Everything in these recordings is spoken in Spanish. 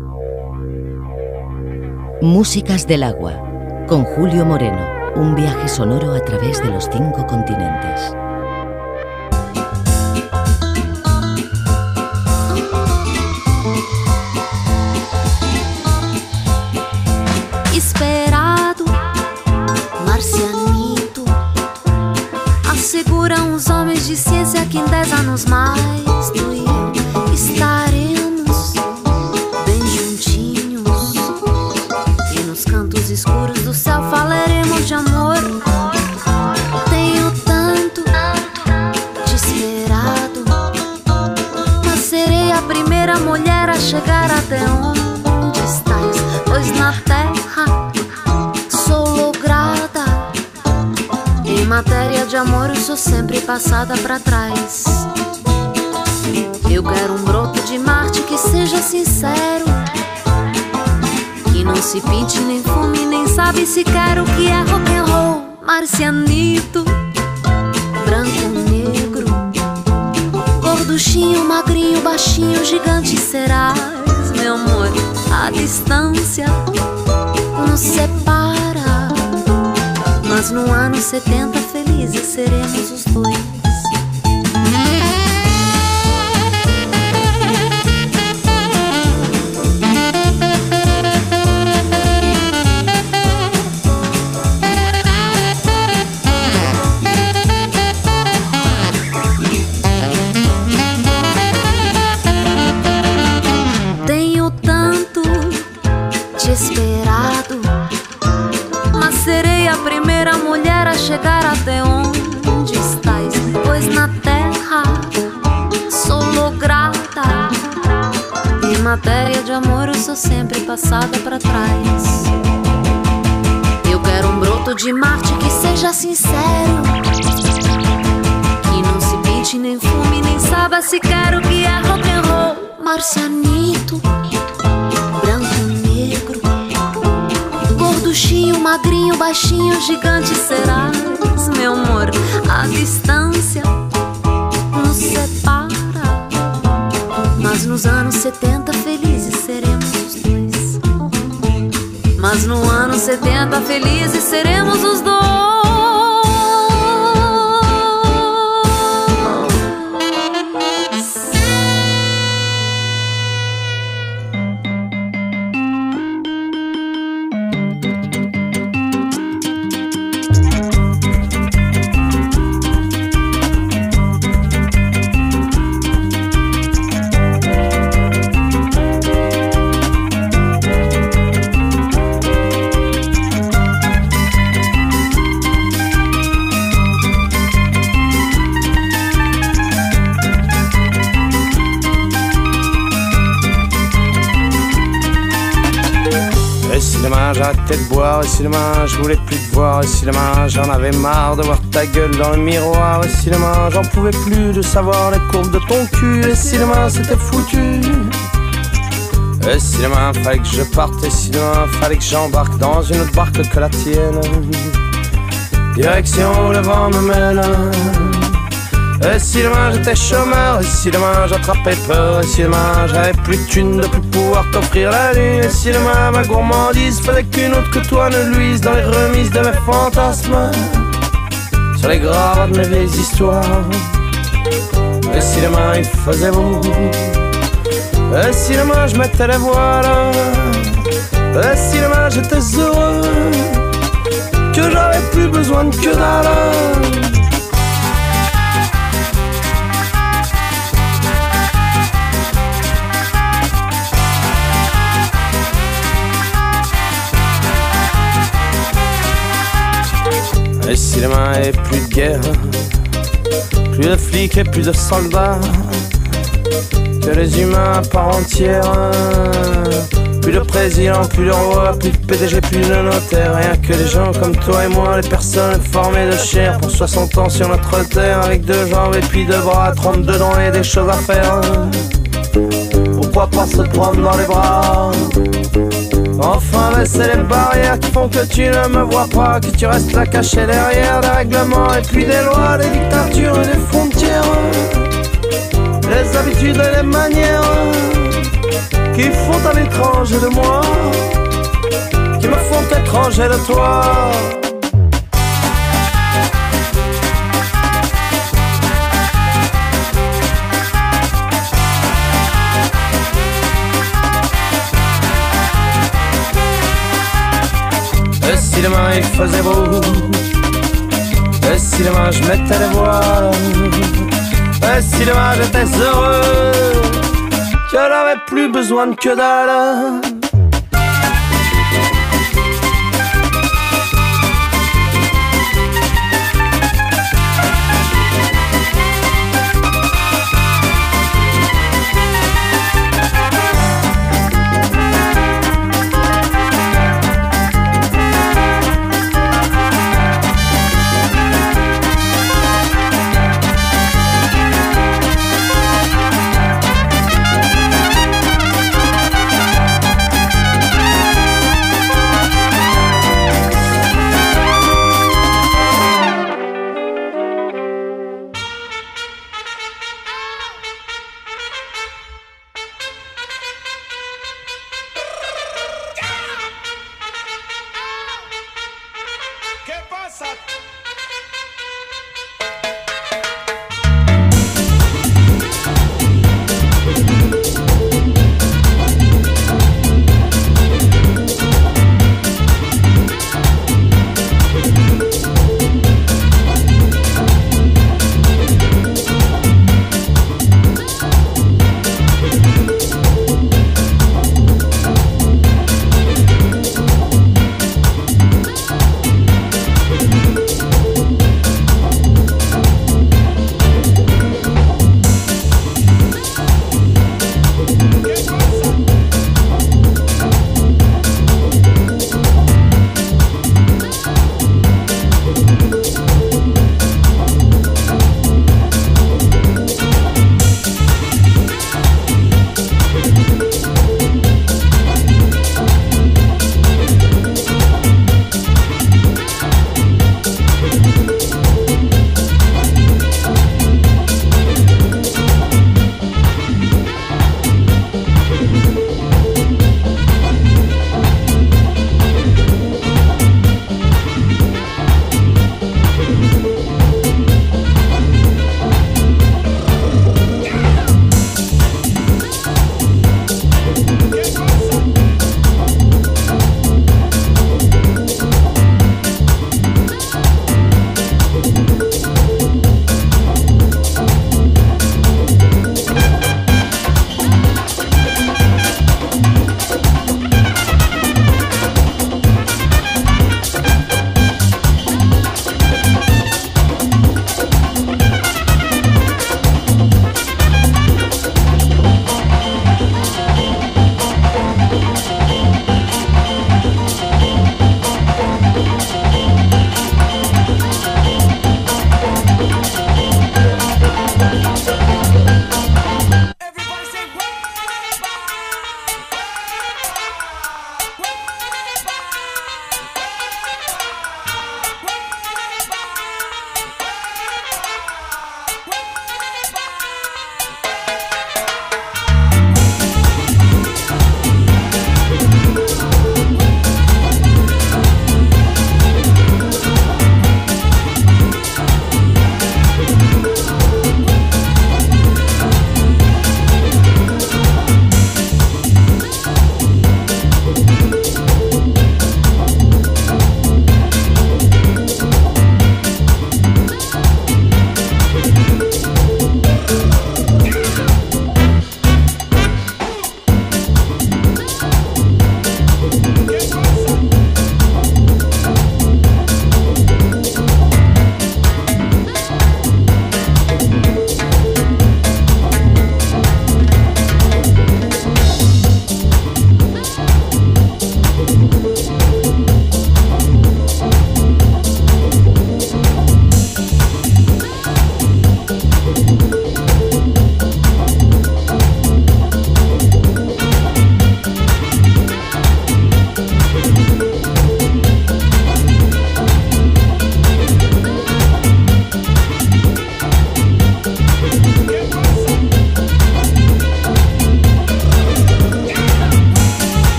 Músicas del agua, con Julio Moreno, un viaje sonoro a través de los 5 continentes. Esperado, marcianito, asseguram os homens de ciência que em 10 anos mais tu e eu estaremos bem juntinhos e nos cantos escuros do céu falaremos de amor. Tenho tanto te esperado, mas serei a primeira mulher a chegar até onde estás, pois na terra sou lograda. Em matéria de amor eu sou sempre passada pra trás. Eu quero um broto de Marte que seja sincero, que não se pinte nem fume, nem sabe sequer o que é rock and roll. Marcianito, branco, negro, gorduchinho, magrinho, baixinho, gigante serás, meu amor. A distância nos separa, mas no ano 70 felizes seremos os dois. Esperado, mas serei a primeira mulher a chegar até onde estás, pois na terra sou lograda. Em matéria de amor eu sou sempre passada pra trás. Eu quero um broto de Marte que seja sincero, que não se pinte nem fume, nem saiba sequer o que é rock and roll. Marcianito, gorduchinho, magrinho, baixinho, gigante serás, meu amor. A distância nos separa, mas nos anos 70 felizes seremos os dois. Mas no ano 70 felizes seremos os dois. J'ai arrêté de boire, et si demain je voulais plus te voir, et si demain j'en avais marre de voir ta gueule dans le miroir, et si demain j'en pouvais plus de savoir les courbes de ton cul, et si demain c'était foutu, et si demain fallait que je parte, et si demain fallait que j'embarque dans une autre barque que la tienne, direction où le vent me mène. Et si demain j'étais chômeur, et si demain j'attrapais peur, et si demain j'avais plus de thunes de plus pouvoir t'offrir la lune, et si demain ma gourmandise faisait qu'une autre que toi ne luise dans les remises de mes fantasmes, sur les graves de mes vieilles histoires. Et si demain il faisait beau, et si demain je mettais les voiles, et si demain j'étais heureux, que j'avais plus besoin de que dalle. Et si demain il n'y avait plus de guerre, plus de flics et plus de soldats, que les humains à part entière, plus de président, plus de roi, plus de PDG, plus de notaire, rien que des gens comme toi et moi, les personnes formées de chair pour 60 ans sur notre terre, avec 2 jambes et puis 2 bras, 32 dents et des choses à faire. Pourquoi pas se prendre dans les bras? Enfin baisser les barrières qui font que tu ne me vois pas, que tu restes là caché derrière des règlements et puis des lois, des dictatures et des frontières, les habitudes et les manières, qui font à l'étranger de moi, qui me font étranger de toi. Et si demain il faisait beau, et si demain je mettais les voiles, et si demain j'étais heureux, je n'avais plus besoin de que dalle.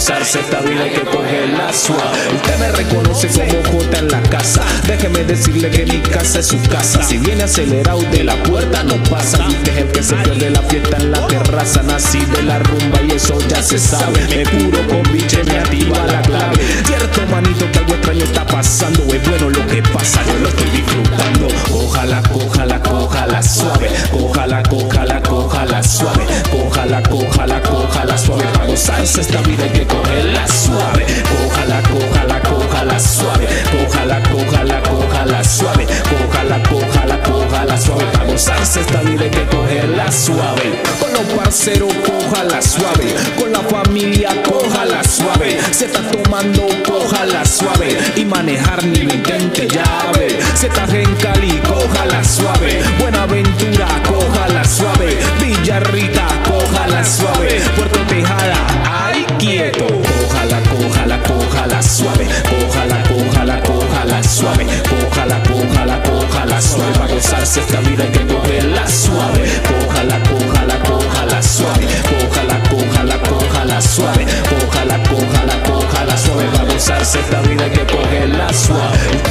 gozarse esta vida hay que cogerla suave. Usted me reconoce como Jota en la casa. Déjeme decirle que mi casa es su casa. Si viene acelerado de la puerta no pasa. Y usted es el que se pierde la fiesta en la terraza. Nací de la rumba y eso ya se sabe. Me curo con biche, me activa la clave. Cierto manito que algo extraño está pasando. Es bueno lo que pasa, yo lo estoy disfrutando. Cójala, cójala, cójala suave. Cójala, cójala, cójala suave. Cójala, cójala, cójala suave. Para gozarse esta vida hay que cogerla suave. Cójala, cójala, cójala suave. Cójala, cójala, cójala suave. Cójala, cójala, cójala suave. Para gozarse esta vida hay que cogerla suave. Con los parceros, cójala suave. Con la familia, cójala suave. Se está tomando, cójala suave. Y manejar ni lo intente llave. Se está en Cali, cójala suave. Buenaventura, cójala suave. Villarrita, cójala suave. Puerto Tejada, ay quieto. Cójala, cójala, cójala suave. Cójala, cójala, cójala suave. Cójala, cójala, cójala suave. Para gozarse esta vida hay que cogerla suave. Cójala, cójala, cójala suave. Cójala, cójala, cójala suave. Cójala, cójala, cójala suave. Para gozarse esta vida hay que cogerla suave.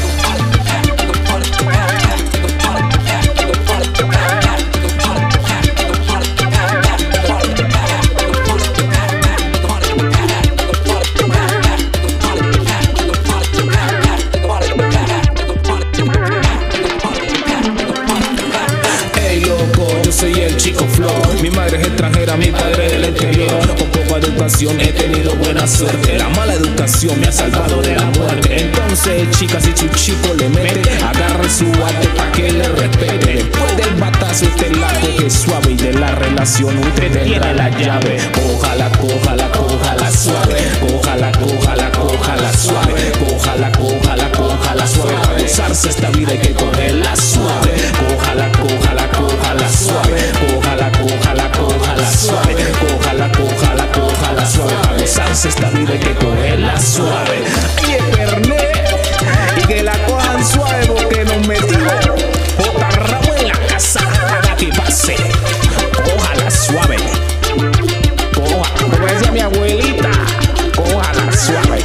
Mi madre es extranjera, mi padre del exterior. Con poca educación he tenido buena suerte. La mala educación me ha salvado de la muerte. Entonces, chicas, si su chico le mete, agarre su arte pa' que le respete. Después del batazo usted la coge suave. Y de la relación usted tiene la llave. Cójala, cójala, cójala suave. Cójala, cójala, cójala suave. Cójala, cójala, cójala suave. Para gozarse esta vida hay que cogerla suave. Cójala, cójala, cójala suave. Cójala, cójala, cójala suave. Cójala, cójala, cójala suave. Para gozarse esta vida hay que cogerla suave. Y es Fernet, y que la cojan suave porque nos metimos J. Ramos en la casa. Haga que pase. Cójala suave. Coja, como decía mi abuelita, cójala suave.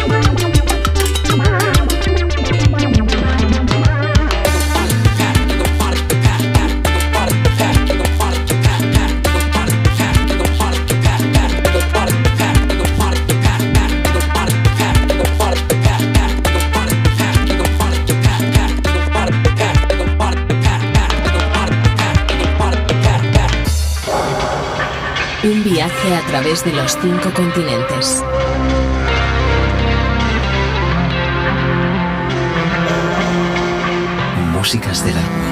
Un viaje a través de los 5 continentes. Músicas del agua.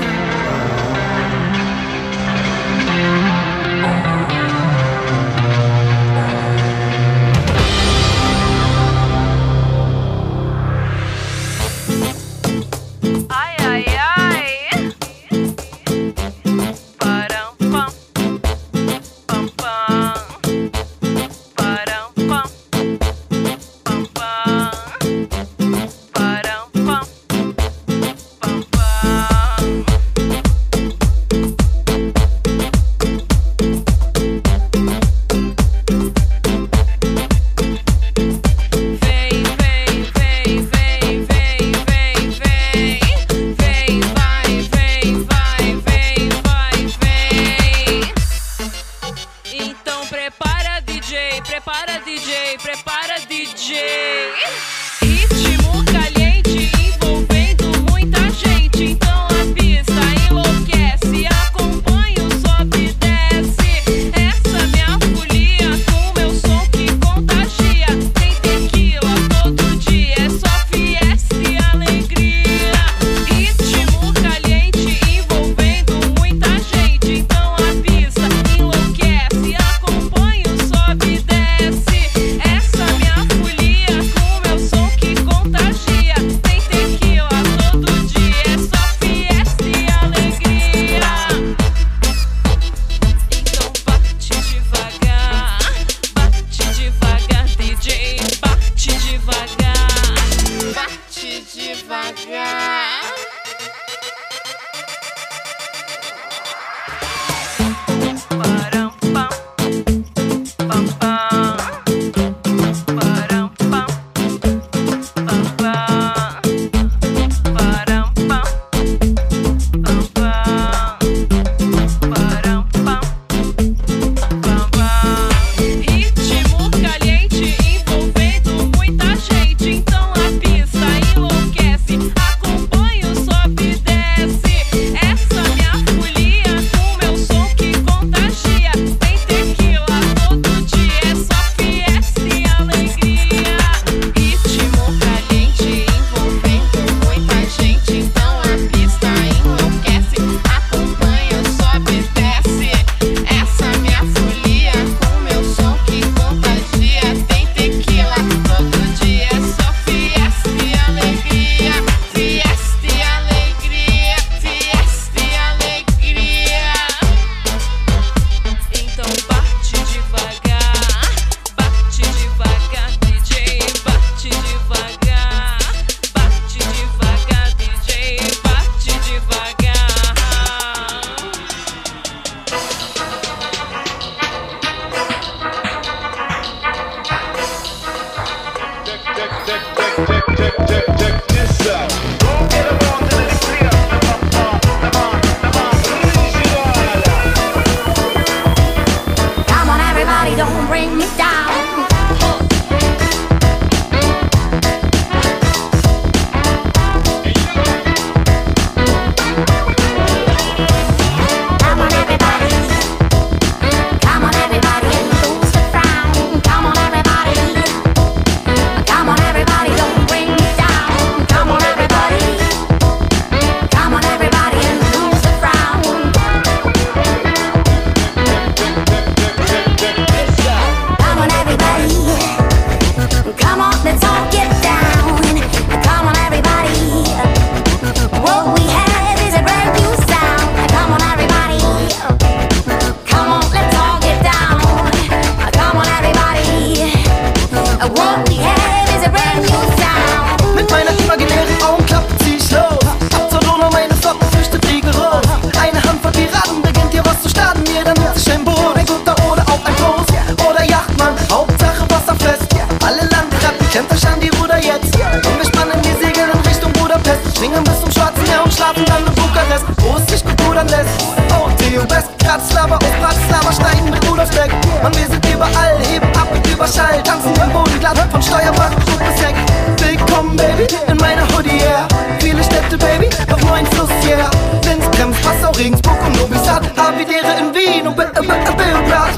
rudern lässt. OT, West, Bratislava, aus Bratislava steigen mit Rudolf Deck. Mann, wir sind überall, heben ab mit Überschall, tanzen im Boden glatt von Steuerbach, Stub bis Heck. Willkommen, Baby, in meiner Hoodie, yeah. Viele Städte, Baby, doch nur ein Fluss, yeah. Linz, Krems, Passau, Regensburg und Novi Sad, Havidere in Wien und Belgrad.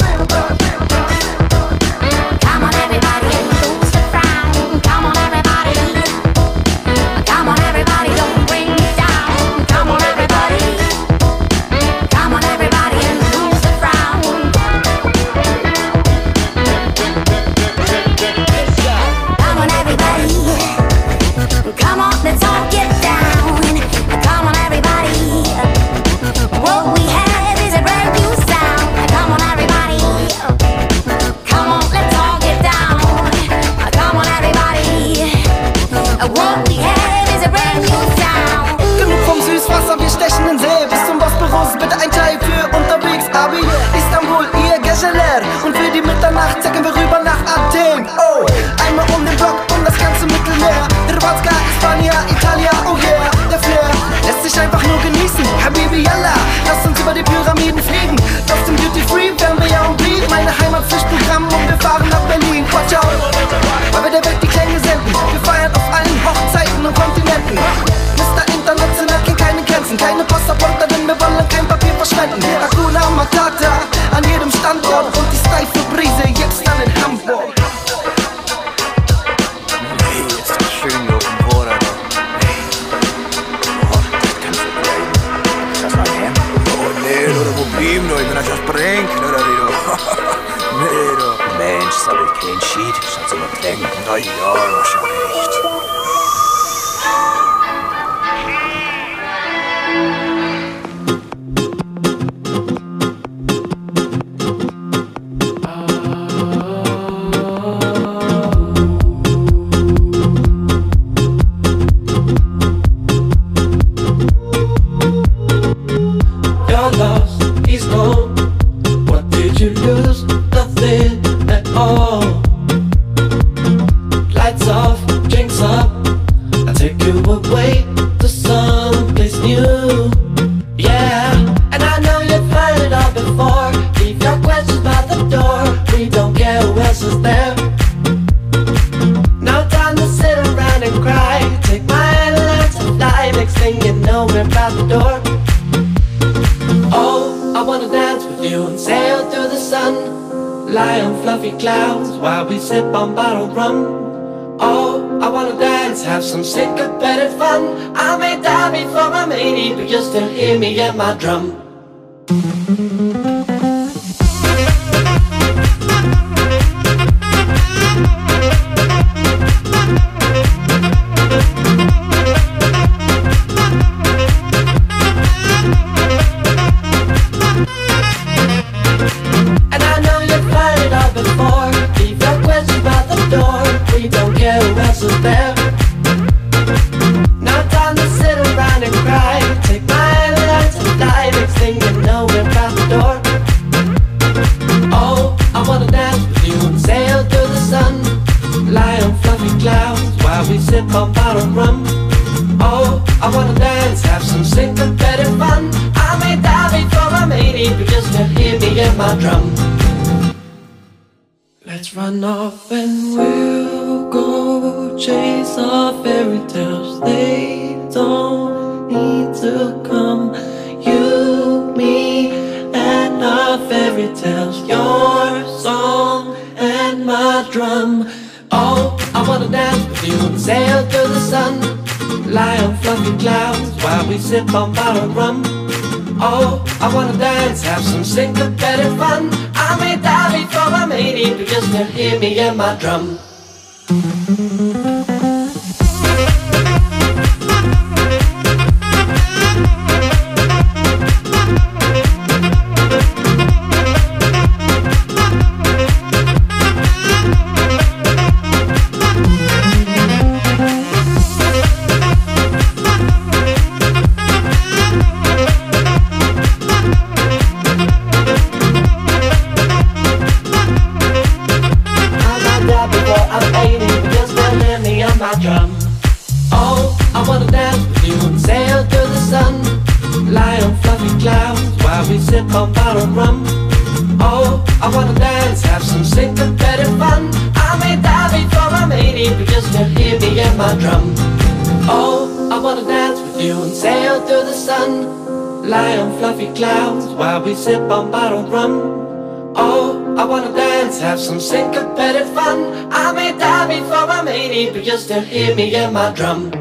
Come on everybody, lose the frown. Come on everybody. Come on everybody, don't bring me down. Come on everybody. Come on everybody and lose the frown. Come on everybody. Come on, let's all get down. Come on everybody. What we have is a brand new sound. Come on everybody. Come on, let's all get down. Come on everybody. What we have is a brand new sound. Genug vom Süßwasser, wir stechen in See. Bis zum Bosporus, bitte ein Teil für unterwegs. Abi, Istanbul, ihr Geceler. Und für die Mitternacht zecken wir rüber nach Athen. Oh, einmal um den Block und das ganze Mittelmeer. Hrvatska, Hispania, Italia, oh yeah. Der Flair lässt sich einfach nur genießen. Habibi, yalla, lass uns über die Pyramiden fliegen. Aus dem Duty Free werden wir ja umblieben. Meine Heimat Pflichtprogramm und wir fahren nach Berlin. Watch out, weil wir der Welt die Klänge senden. Wir feiern auf allen Hochzeiten und Kontinenten. Mr. International kennt keine Grenzen, keine Passaporte, denn wir wollen kein Papier verschwenden. Hakuna Matata an jedem Standort und die steife Brise jetzt dann in Hamburg. Hey, ist das schön hier auf dem Boden, oder? Hey. Oh, das kannst du bleiben. Ist das mal her? Oh, nee, oder Problem, du. Ich bin euch aus Brenk, oder wie du? Nee, du. Mensch, soll ich kein Schied, soll sie mal klängen. Na ja, wahrscheinlich echt. You're lost, he's gone. What did you lose? Nothing at all. Lights off, drinks up. I'll take you away to someplace new. Yeah, and I know you've heard it all before. Leave your questions by the door. We don't care who else is there. No time to sit around and cry. Take my hand and learn to fly. Next thing you know, we're out the door. Oh, I wanna dance with you and sail through the sun. Lie on fluffy clouds while we sip on bottled rum. Oh, I wanna dance, have some syncopated fun. I may die before I'm 80, but you'll still hear me at my drum. And I know you've heard it all before. Leave your questions by the door. We don't care who else is there. No time to sit around and cry. Take my hand and learn to fly. Next thing you know, we're out the door. Oh, I wanna dance with you and sail through the sun. Lie on fluffy clouds while we sip on bottled rum. Oh, I wanna dance, have some syncopated fun. I may die before I'm 80, but you'll still hear me at my drum. Let's run off and we'll go chase our fairy tales. They don't need to come. You, me, and our fairy tales. Your song and my drum. Oh, I wanna dance with you and sail through the sun. Lie on fluffy clouds while we sip on bottled rum. Oh, I wanna dance, have some syncopated fun. I may die before I'm 80, but you'll still hear me at my drum. I might die before I'm 80, but you'll still sip on bottled rum. Oh, I wanna dance, have some syncopated fun. I may die before I'm 80, but just to hear me and my drum. Oh, I wanna dance with you and sail through the sun, lie on fluffy clouds while we sip on bottled rum. Oh, I wanna dance, have some syncopated fun. I may die before I'm 80, but just to hear me and my drum.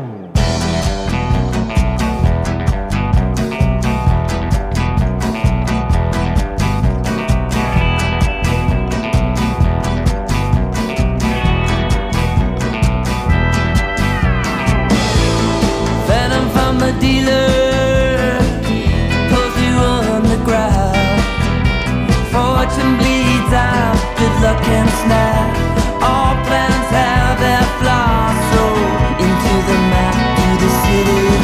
Dealer pulls you on the ground. Fortune bleeds out, good luck and snap. All plans have their flaws, so into the map, to the city of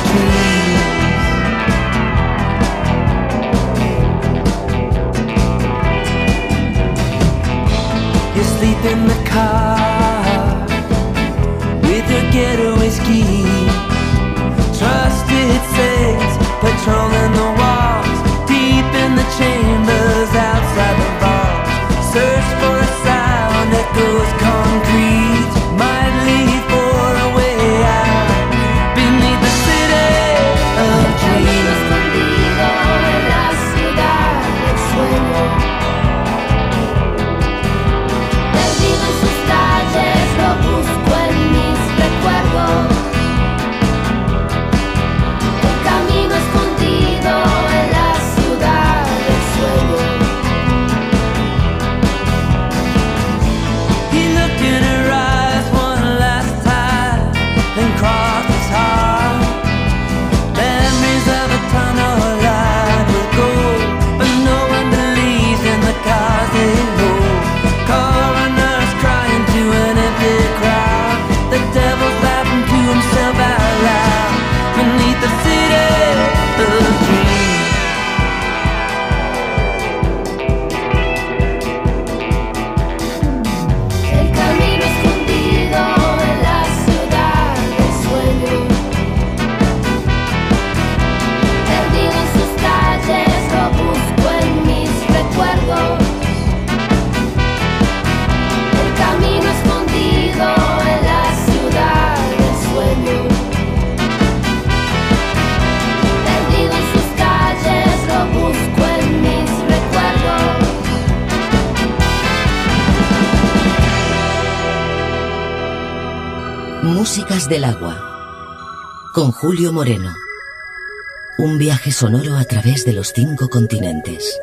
dreams. You sleep in the car with your getaway ski. Trusted saints patrolling the walls, deep in the chambers outside the vaults. Search for a sound that goes concrete, might lead for a way out beneath the city of dreams. Escondido en la ciudad del sueño, perdido en sus calles, lo busco en mis recuerdos. Músicas del agua, con Julio Moreno. Un viaje sonoro a través de los 5 continentes.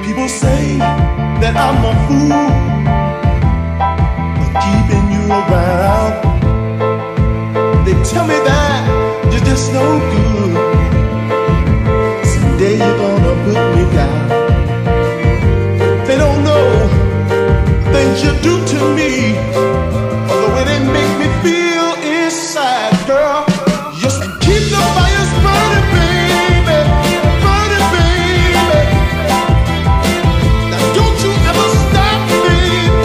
People say that I'm a fool for keeping you around. They tell me that you're just no good. Someday you're gonna put me down. They don't know things you do to me, or the way they make me feel inside, girl. Just keep the fires burning, baby, burning, baby. Now don't you ever stop me.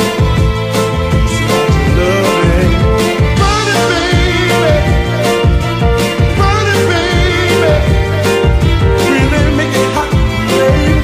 Loving, burning, baby, burning, baby. Really make it hot, baby.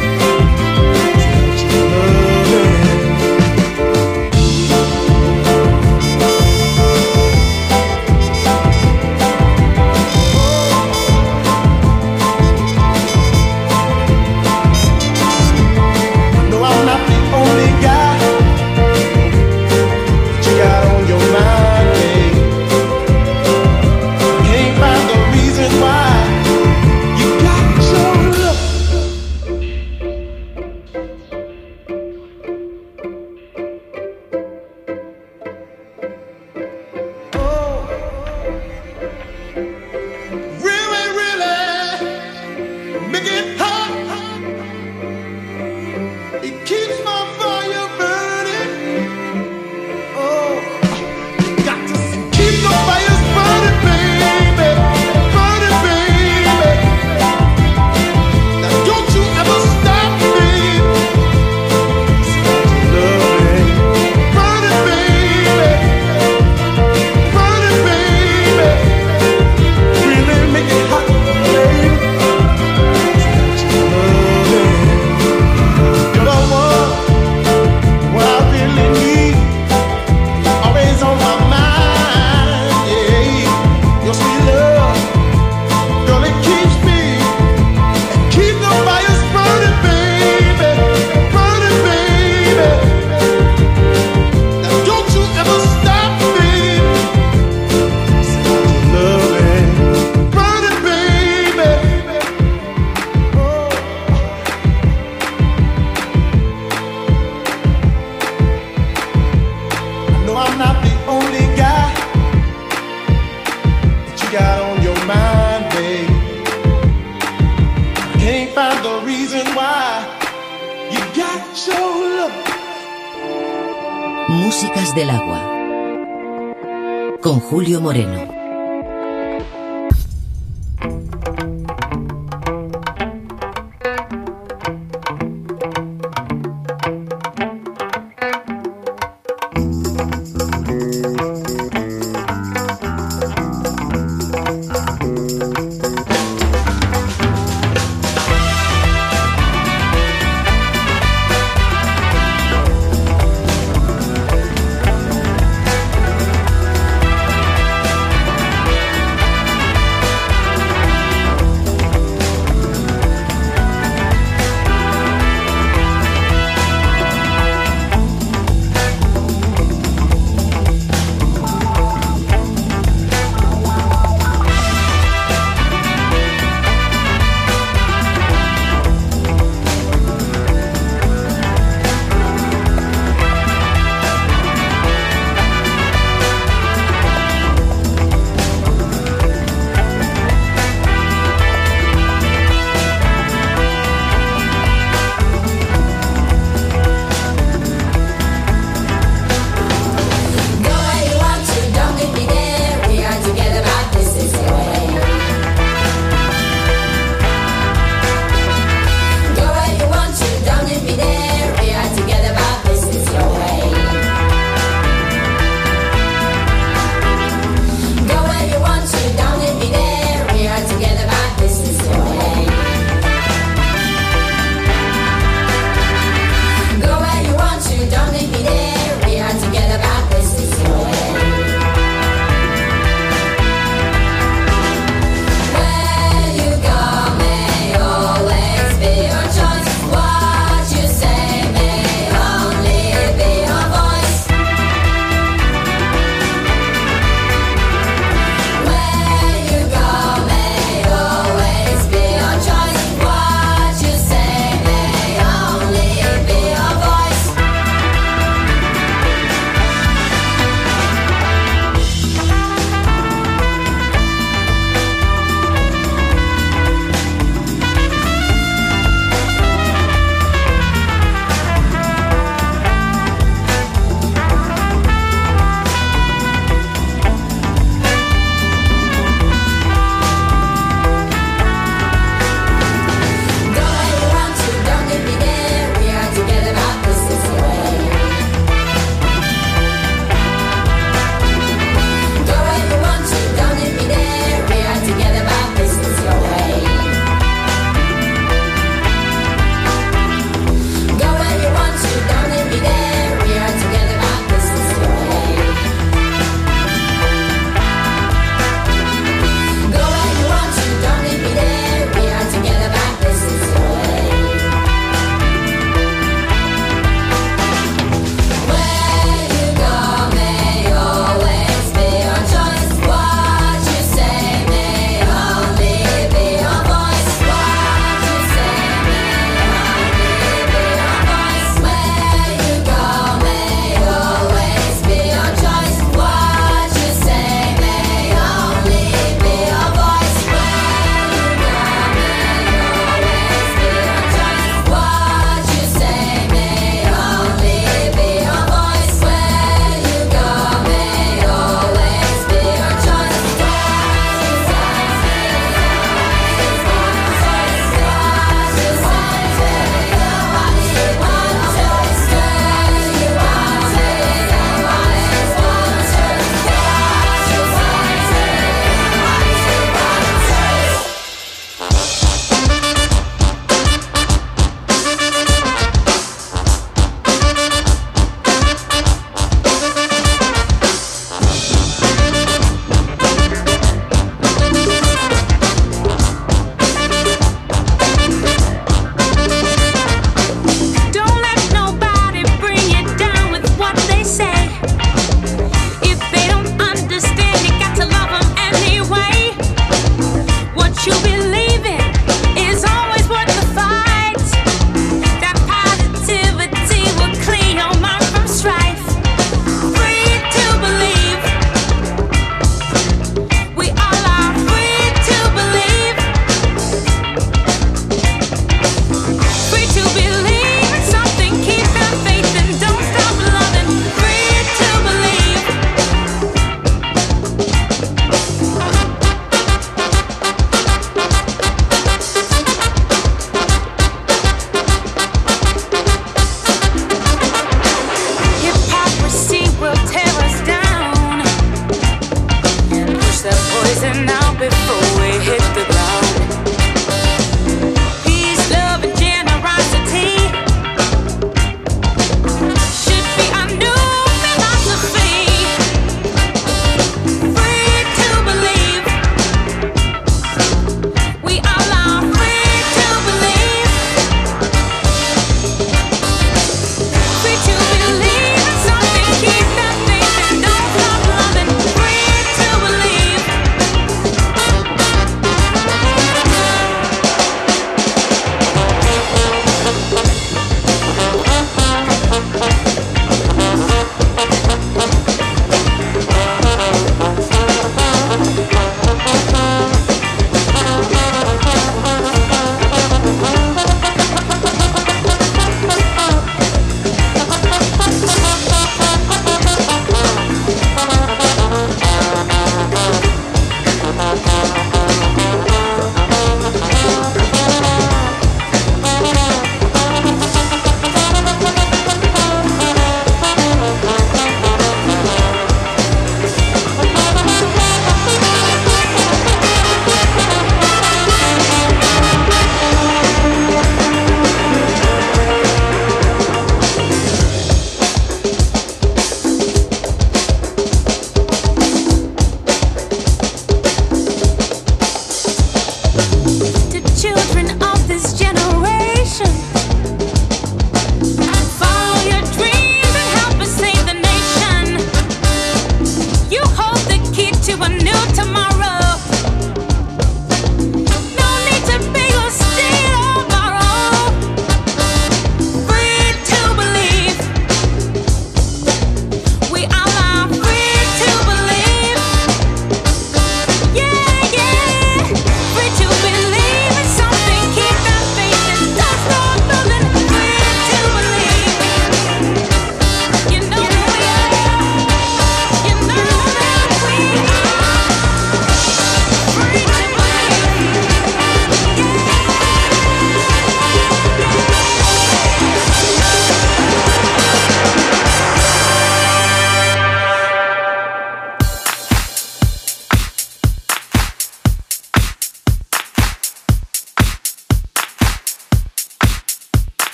Músicas del agua con Julio Moreno.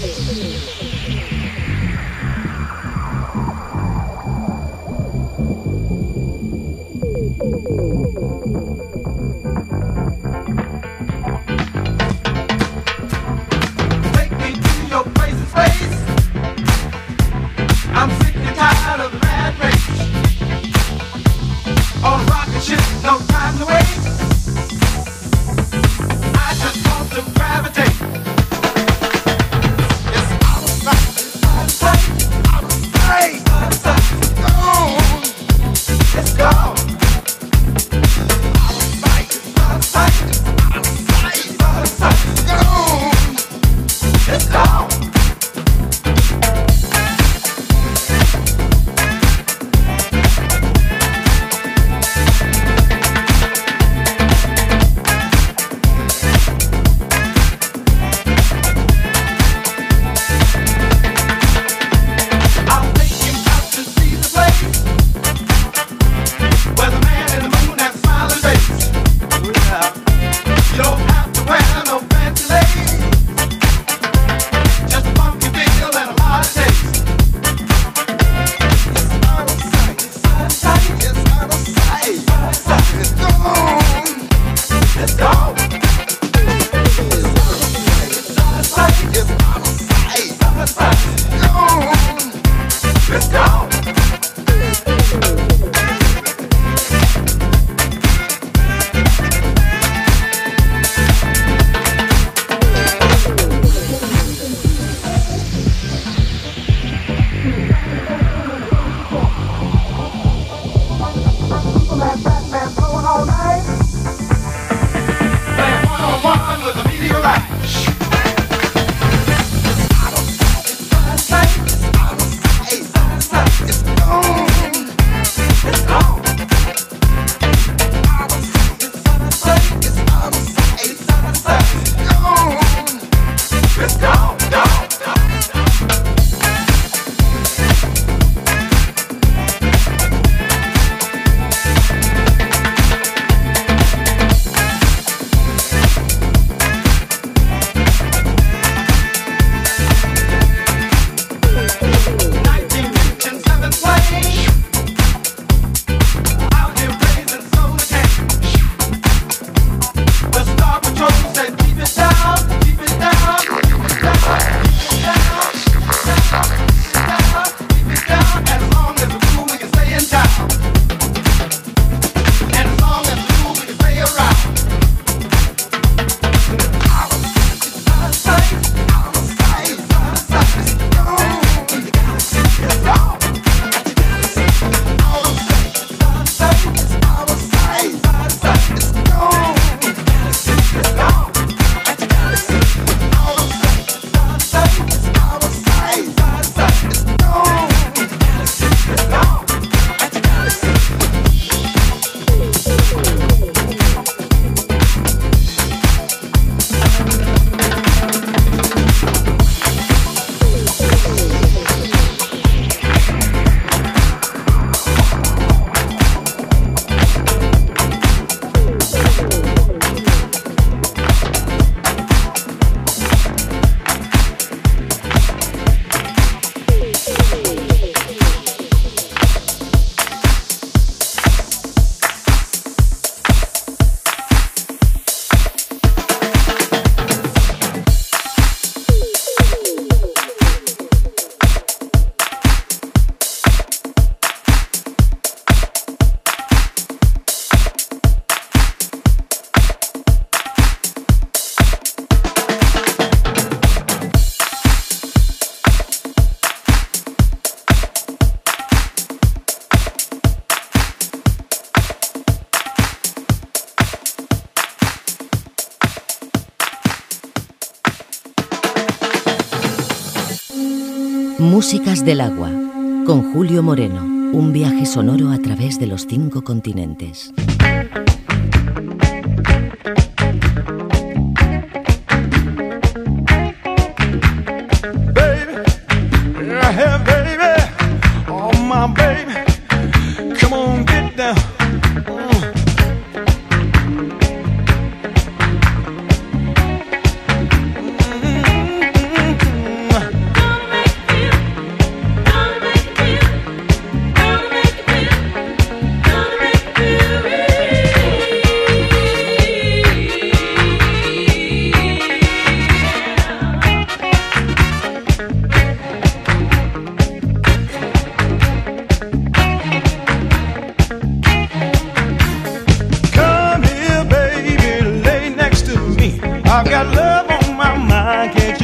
Músicas del agua, con Julio Moreno, un viaje sonoro a través de los 5 continentes.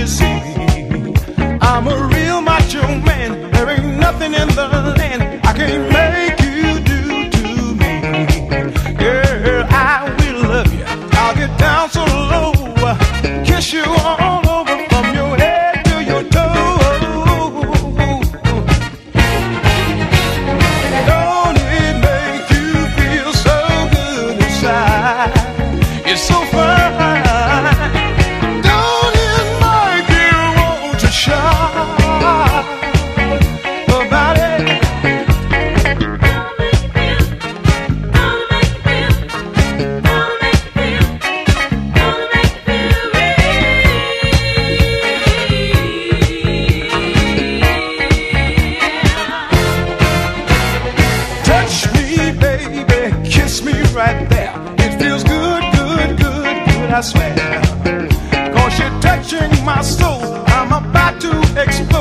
see. I'm a real macho man. There ain't nothing in the land I can't make you do to me. Girl, I will love you. I'll get down so low, kiss you all over from your head to your toe. Don't it make you feel so good inside? It's so fine. Don't it make you want to shout about it? Touch me, baby, kiss me right there. It feels good, good, good, good, I swear. 'Cause you're touching my soul, I'm about to explode.